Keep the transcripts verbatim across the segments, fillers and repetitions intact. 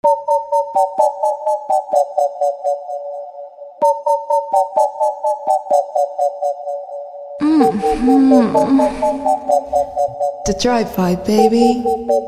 The drive-by, baby.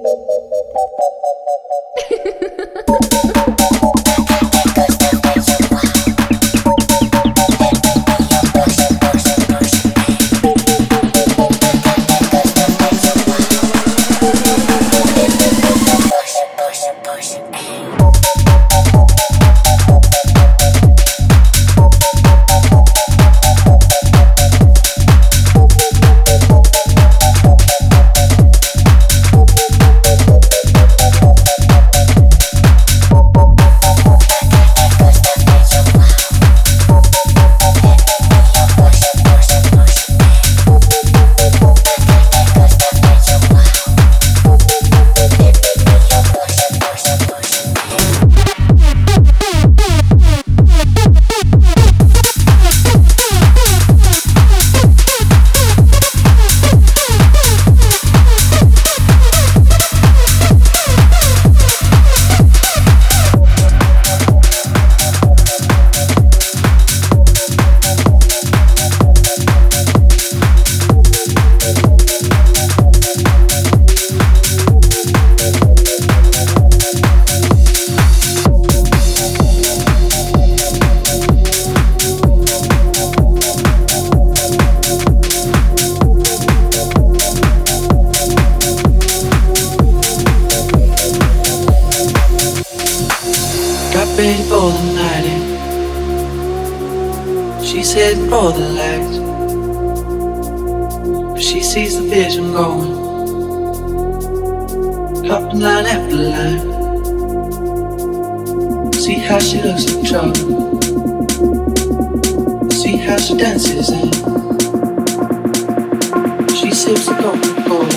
ready for the night in. She's heading for the lights, but she sees the vision going, hopping line after line. See how she looks in trouble, see how she dances in. She sips the Coca-Cola,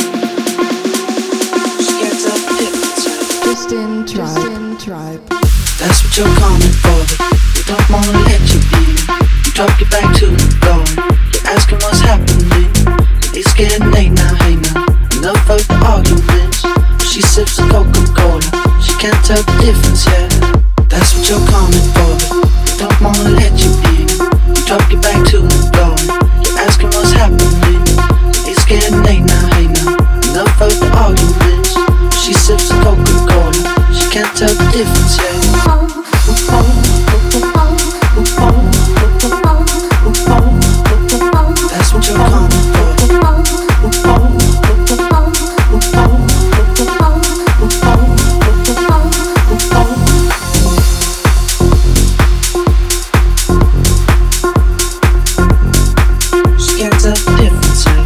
she gets up different side. Just in tribe, Just in tribe. That's what you're coming for, but we don't wanna let you in. You drop your back to the floor, you're asking what's happening. It's getting late now, hey now, enough of the arguments. She sips the Coca-Cola, she can't tell the difference yet. That's what you're coming for, but we don't wanna let you in. You drop your back to the floor, you're asking what's happening. It's getting late now, hey now, enough of the arguments. She sips the Coca-Cola, she can't tell the difference yet. That's what you're coming for. She can't tell the difference yet.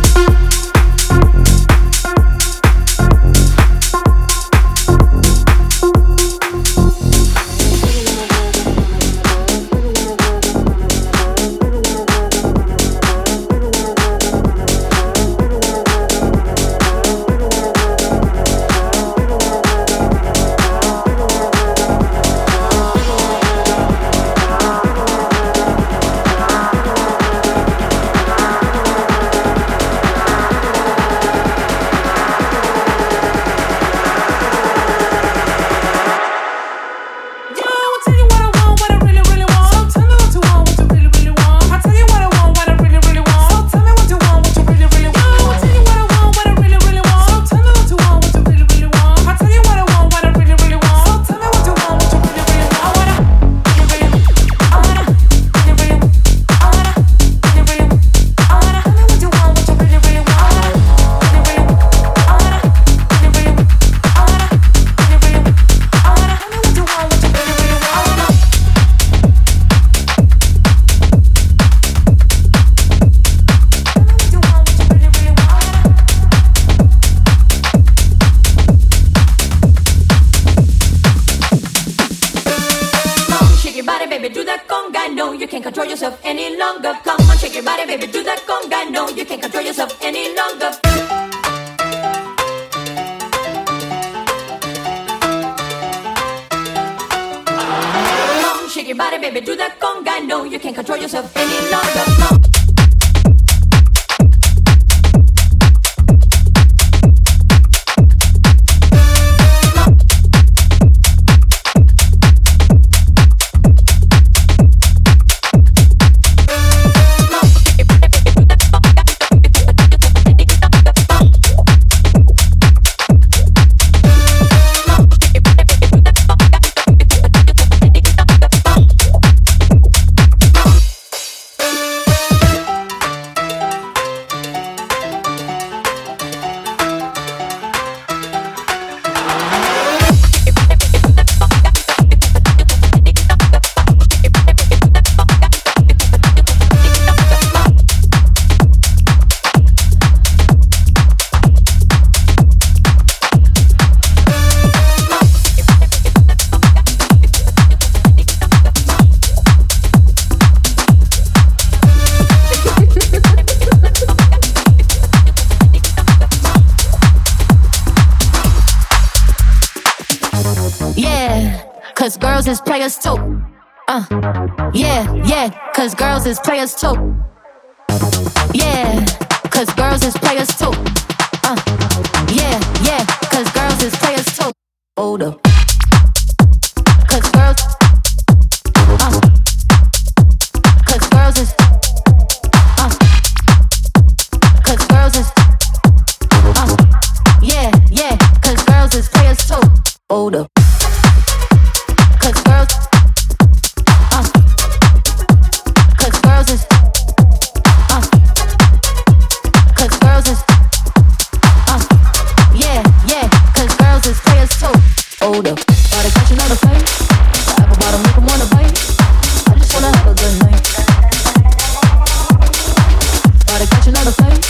Yeah, cause girls is players too. Uh, yeah, yeah, cause girls is players too. Yeah, cause girls is players too. Uh, yeah, yeah, cause girls is players too. Hold up. Cause girls, uh, cause girls is, uh, cause girls is, uh, yeah, yeah, cause girls is players too. Hold up. Cause girls, uh, cause girls is, uh, cause girls is, uh, yeah, yeah, cause girls is players too. Hold up. Gotta catch another fight. The apple bottom make 'em wanna bite. I just wanna have a good night. Gotta catch another fight.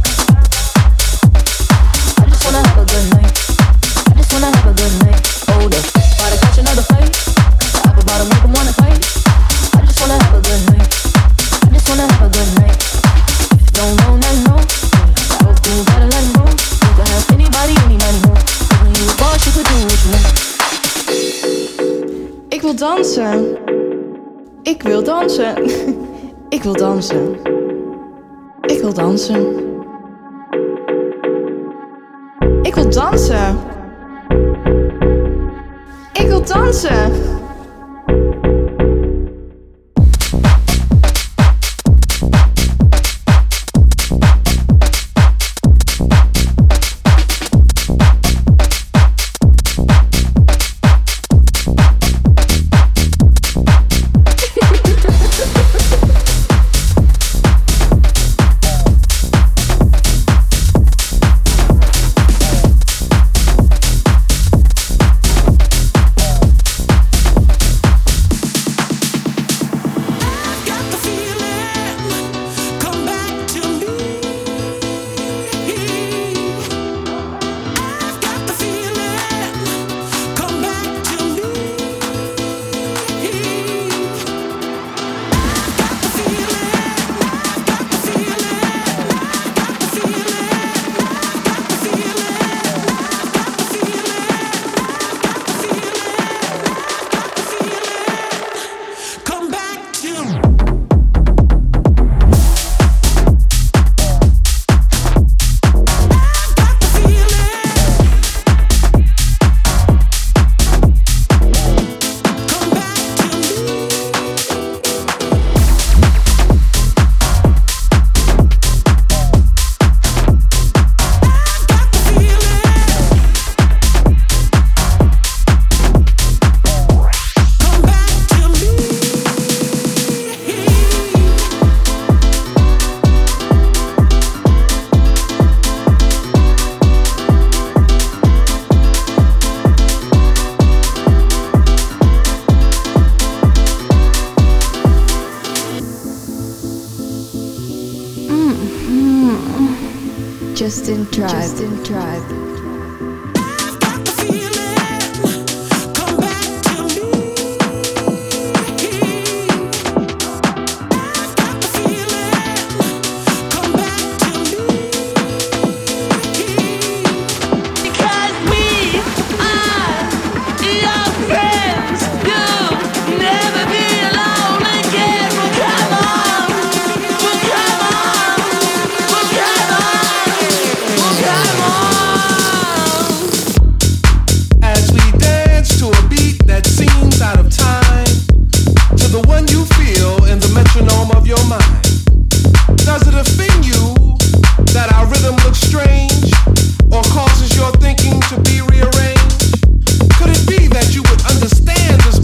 I just wanna have a good night. I just wanna have a good night. Hold up. Gotta catch another fight. The apple bottom make 'em wanna fight. I just wanna have a good night. I just wanna have a good night. No, no, no, no. I hope you gotta let 'em go. You can have anybody, anybody more. Cause when you a boss, you could do what you want. Ik wil dansen. Ik wil dansen. Ik wil dansen. Ik wil dansen. Ik wil dansen. Ik wil dansen. Justin Tribe. Justin Tribe. To be rearranged? Could it be that you would understand this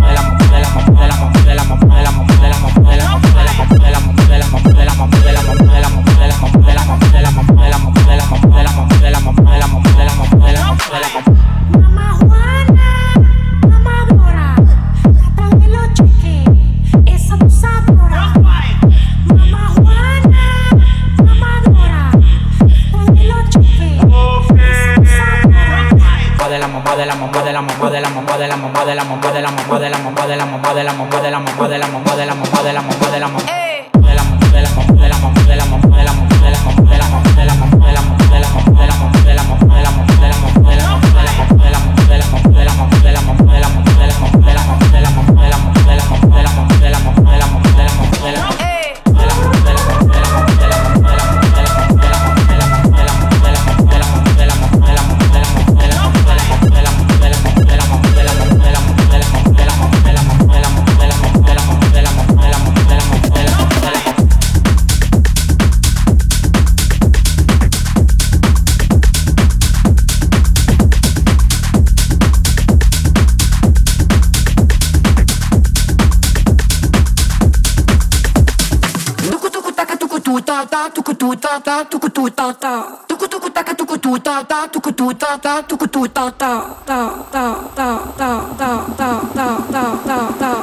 tukutu ta ta tukutu ta ta tukutu taka tukutu ta ta tukutu ta ta tukutu ta ta ta ta ta ta ta ta ta ta ta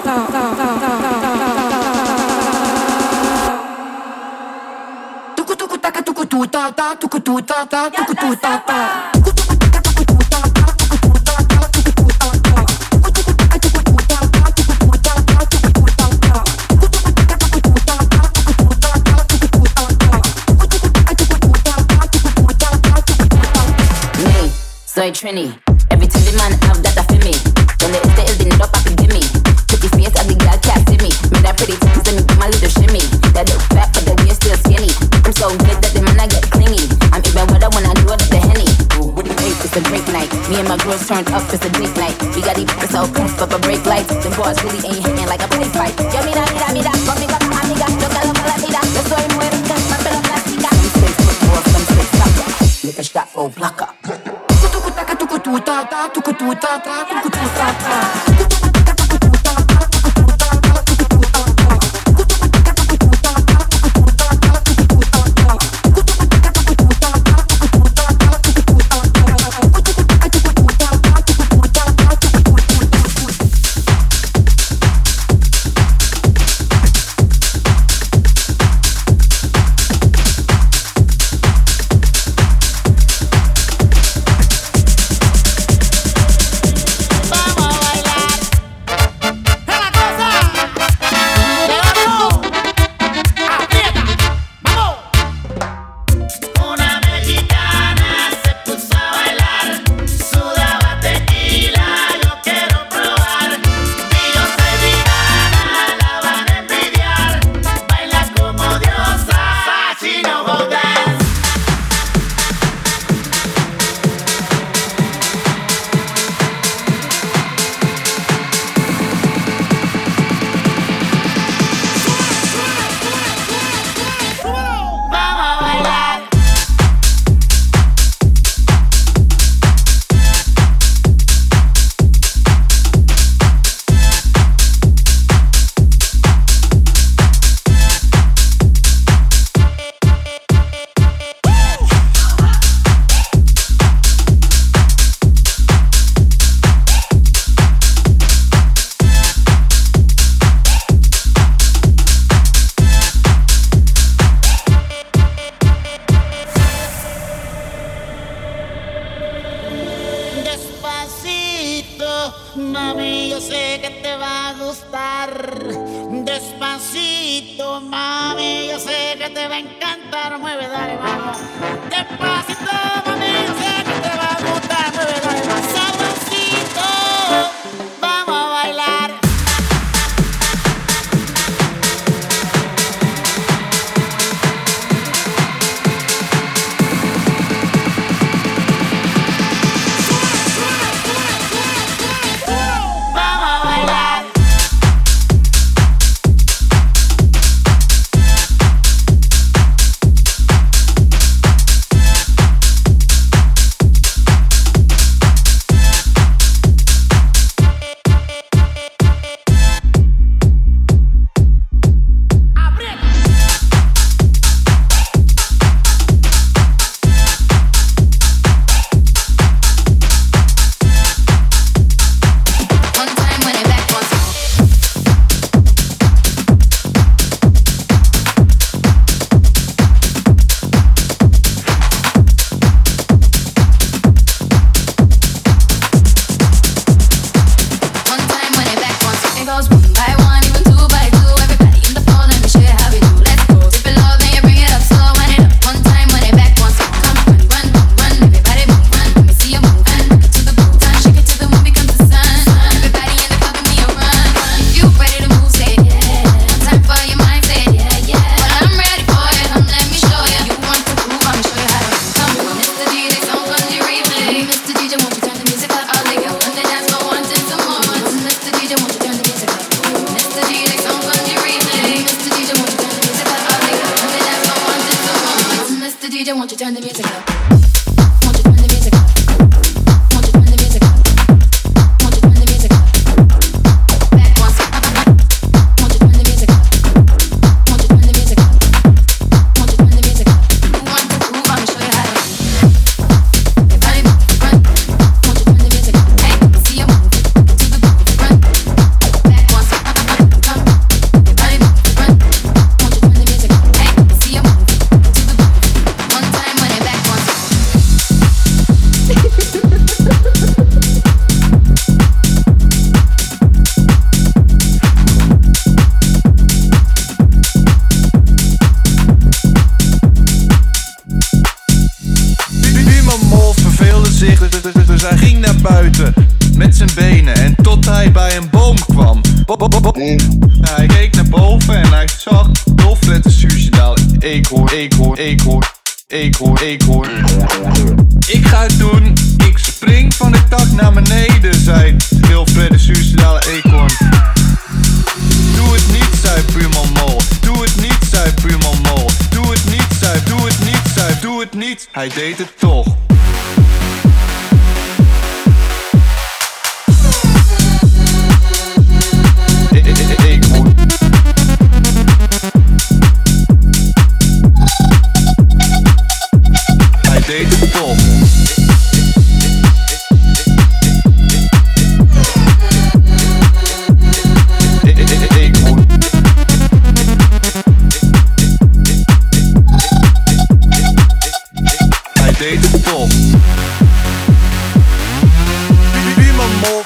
tukutu taka tukutu ta ta tukutu ta ta tukutu ta ta Soy Trini, every time the man have that for me. When the is the is the need up I can give me. Pretty face and the girl can't see me. Me that pretty titties let me do my little shimmy. That look fat but the waist still skinny. I'm so good that the man I get clingy. I'm even wetter when I do it up the Henny. Ooh, what do you think? It's a drink night. Me and my girls turned up, it's a date night. We got these pockets all poof up a break lights. The boys really ain't hitting like a play fight. Yo mira, mira, mira, conmigo con amiga. Yo te lo voy a tirar. Yo soy muerta, papel plástica. Some say football, some say soccer. Lick a shot for blocker. Tukutu ta ta tukutu ta ta tukutu ta ta. Mami, yo sé que te va a gustar. Despacito, mami, yo sé que te va a encantar. Mueve, dale, vamos. Despacito, mami, yo sé que te va a gustar. Mueve, dale, vamos. Sabrosito, vamos a bailar. gezicht, dus hij ging naar buiten met zijn benen en tot hij bij een boom kwam. Hij keek naar boven en hij zag dolfletten suicidaal. Eekhoorn, eekhoorn, eekhoorn, eekhoorn, eekhoorn. Ik ga het doen, ik spring van de tak naar beneden, zei Wilfred suicidale eekhoorn. Doe het niet, zei buurman Mol. Doe het niet, zei buurman Mol. Doe het niet, zei, doe het niet, zei, doe het niet. Hij deed het toch. Hij deed het toch. Hij deed het toch. Buurman Mol.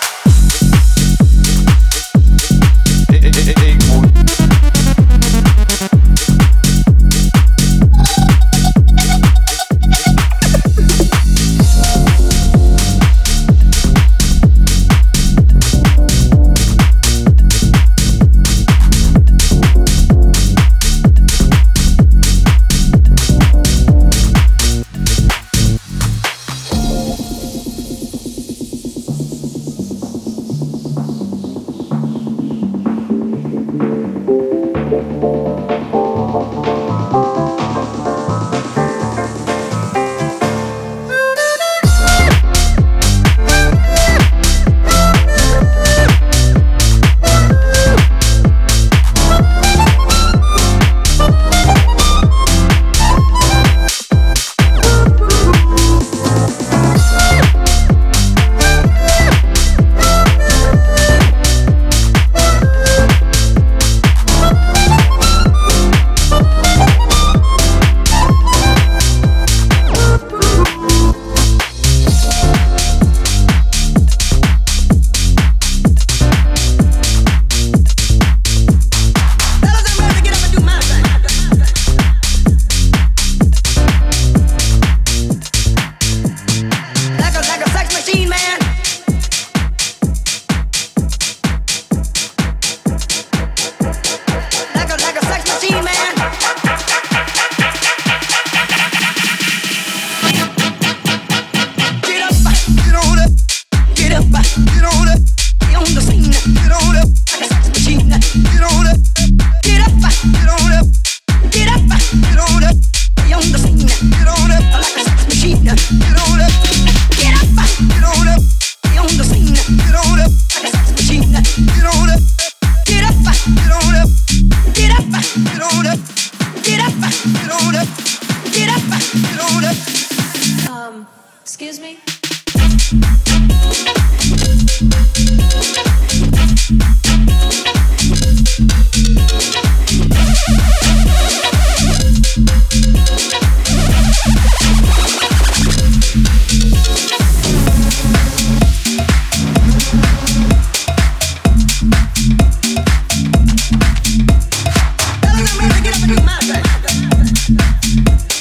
Um, excuse me?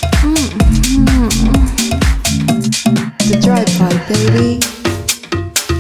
The drive-by, baby.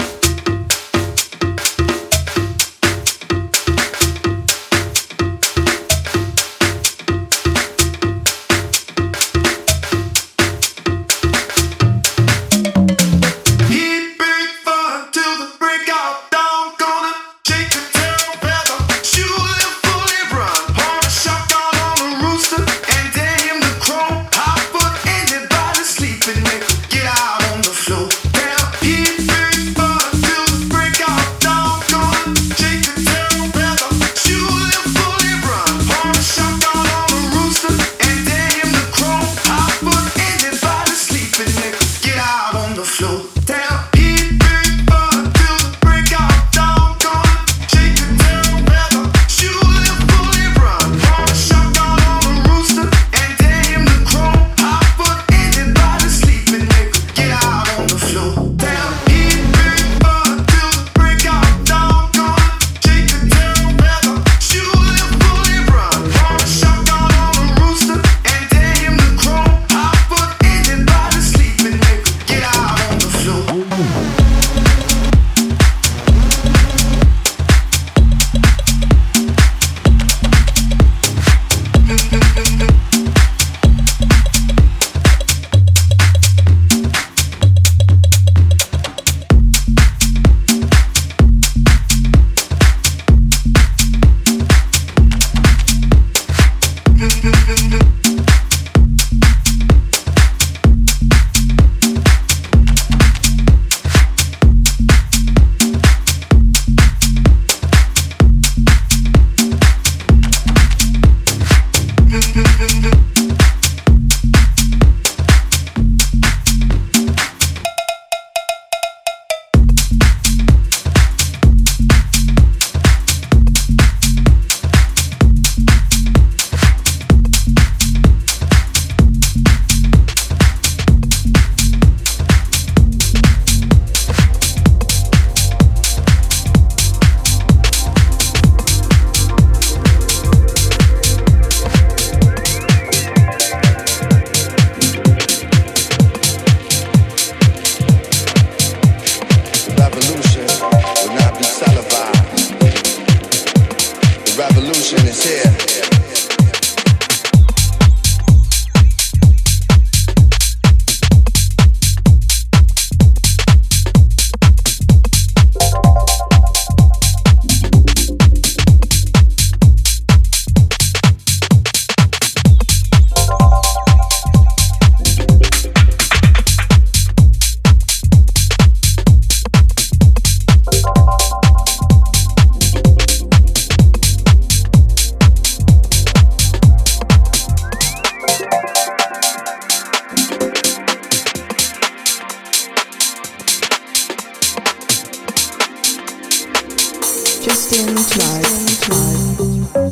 Justin Clark.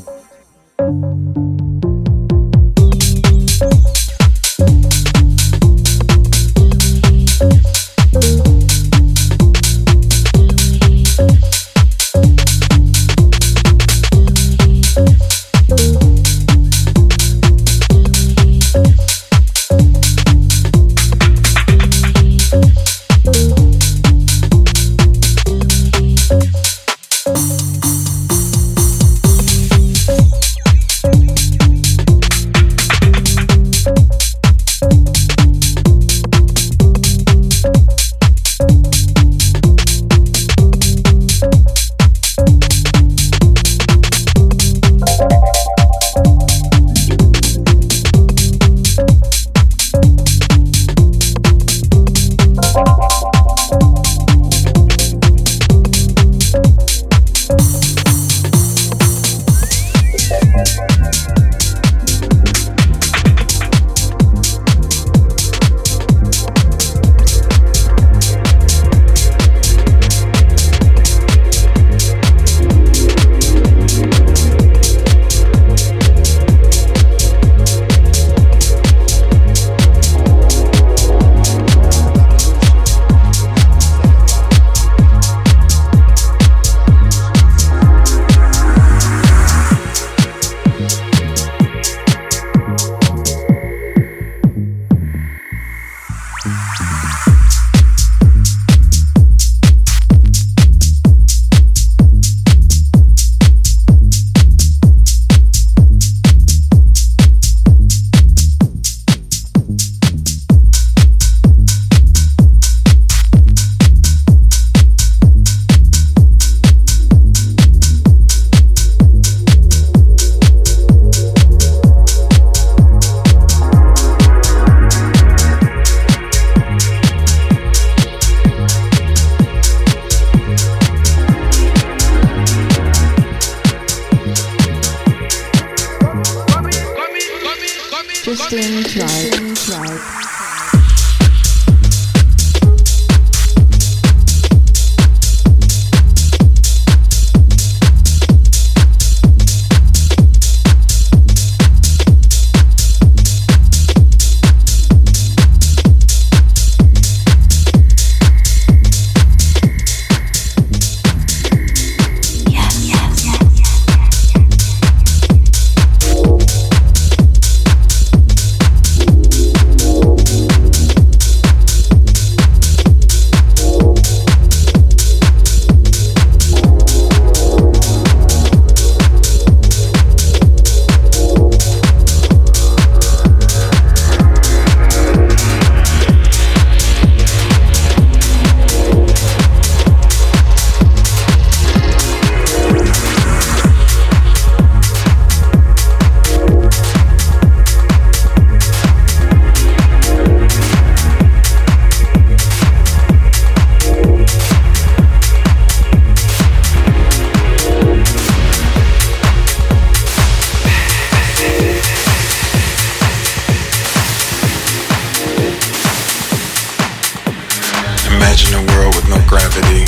Justin Clark. Imagine a world with no gravity.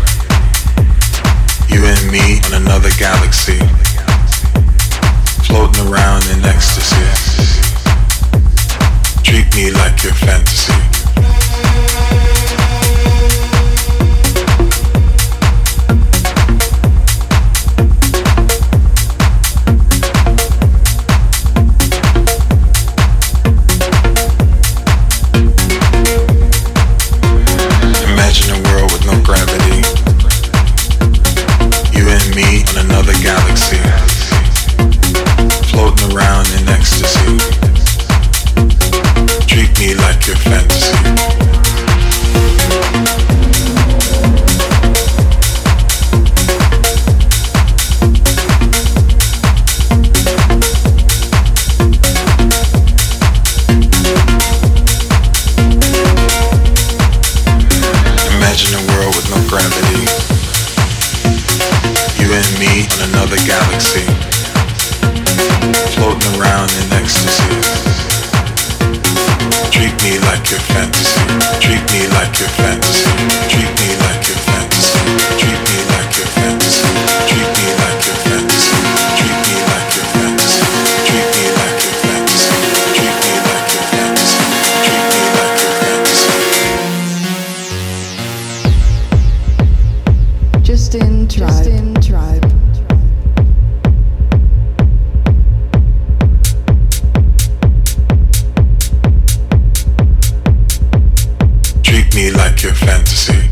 You and me on another galaxy, floating around in ecstasy. Treat me like your fantasy. Imagine a world with no gravity. You and me on another galaxy, floating around in ecstasy. Treat me like your fantasy. Imagine a world with no gravity. You and me on another galaxy, floating around in ecstasy. Treat me like your fantasy. Treat me like your fantasy. Treat me like your fantasy. Treat me like your fantasy. Treat me like your fantasy.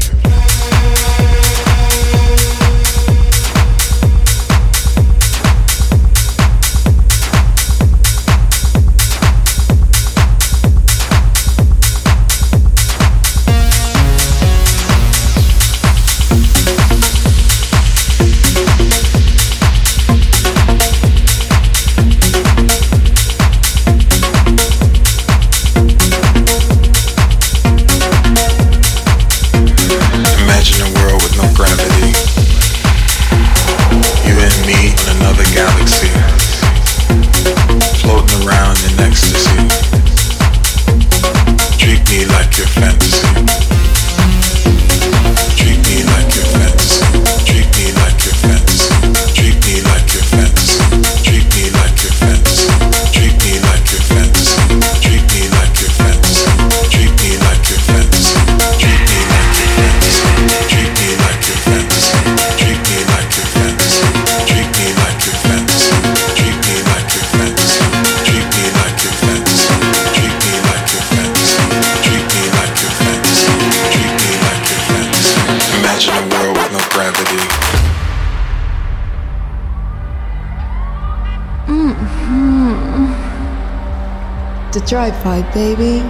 The drive-by, baby.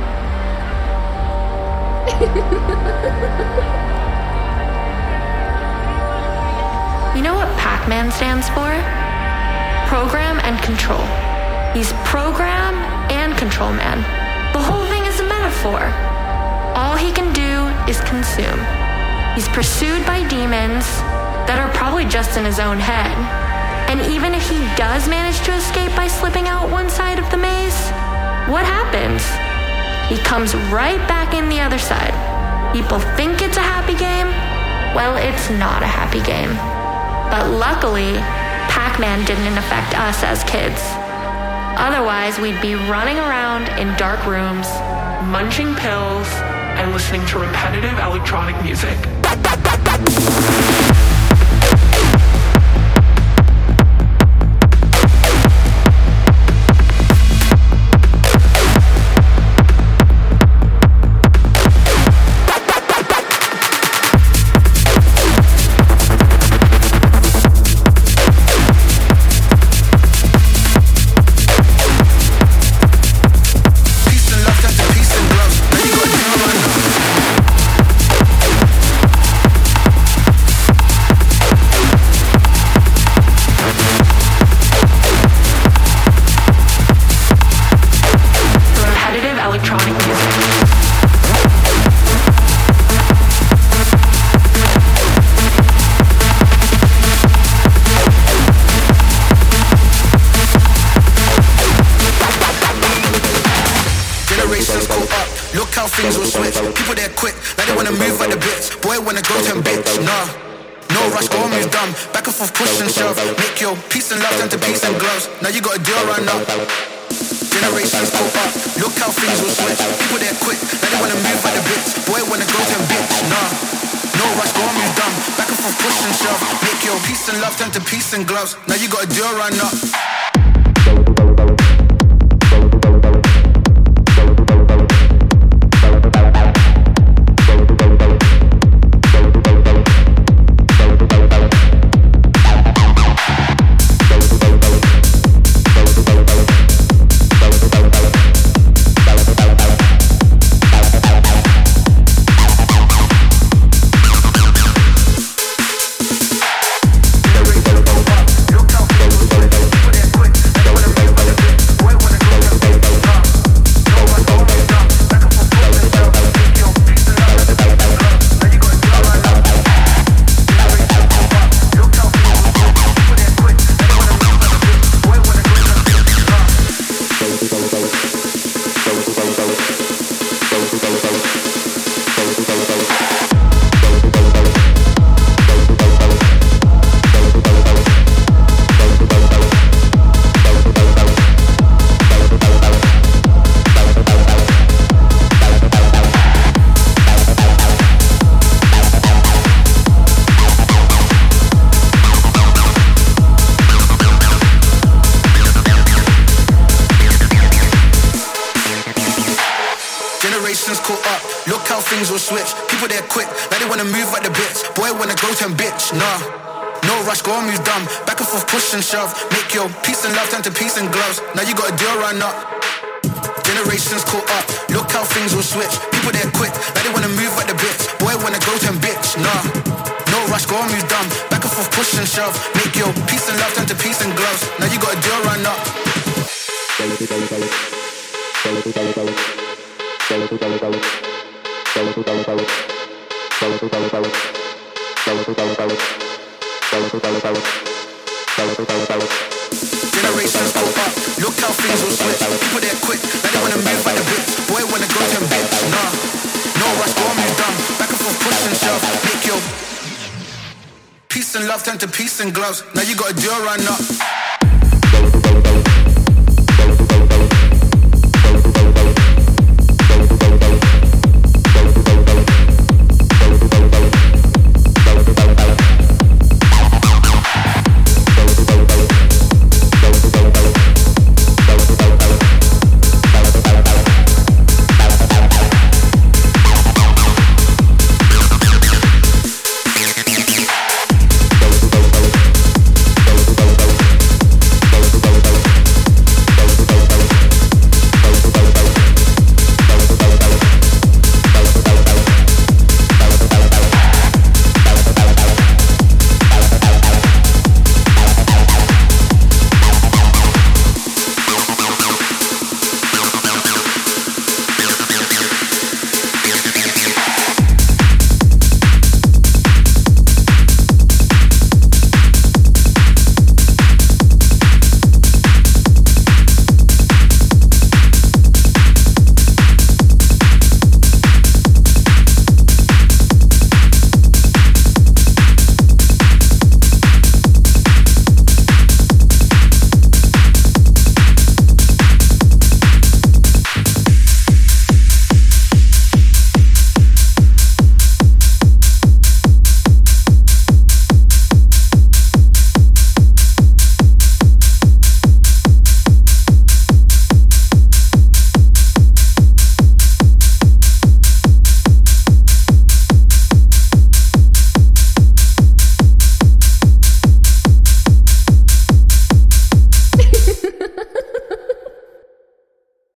You know what Pac-Man stands for? Program and control. He's program and control man. The whole thing is a metaphor. All he can do is consume. He's pursued by demons that are probably just in his own head. And even if he does manage to escape by slipping out one side of the maze, what happens? He comes right back in the other side. People think it's a happy game. Well, it's not a happy game. But luckily, Pac-Man didn't affect us as kids. Otherwise, we'd be running around in dark rooms, munching pills, and listening to repetitive electronic music. Things will switch, people they're quick, like they wanna move like the bits. Boy wanna go to bitch, nah. No rush, go move dumb. Back and forth, push and shove. Make your peace and love turn to peace and gloves. Now you got a deal run up. Generations go up, look how things will switch. People they're quick, like they wanna move like the bits. Boy wanna go to bitch, nah. No rush, go move dumb. Back and forth, push and shove. Make your peace and love turn to peace and gloves. Now you got a deal run up. Quick. Look how things will switch. People there quick, like they wanna move like the bits. Boy wanna grow to bitch, nah. No rush, go and move dumb. Back and forth, push and shove. Make your peace and love turn to peace and gloves. Now you got a deal run up. Generations caught up. Look how things will switch. People there quick, like they wanna move like the bits. Boy wanna grow to bitch, nah. No rush, go and move dumb. Back and forth, push and shove. Make your peace and love turn to peace and gloves. Now you got a deal run up. Generations go up, look how things will switch. People there quick, like they wanna move like the bits. Boy wanna go to bitch, nah. No rush, go and move dumb. Back and forth, push and shove. Make your peace and love turn to peace and gloves. Now you got a deal run up.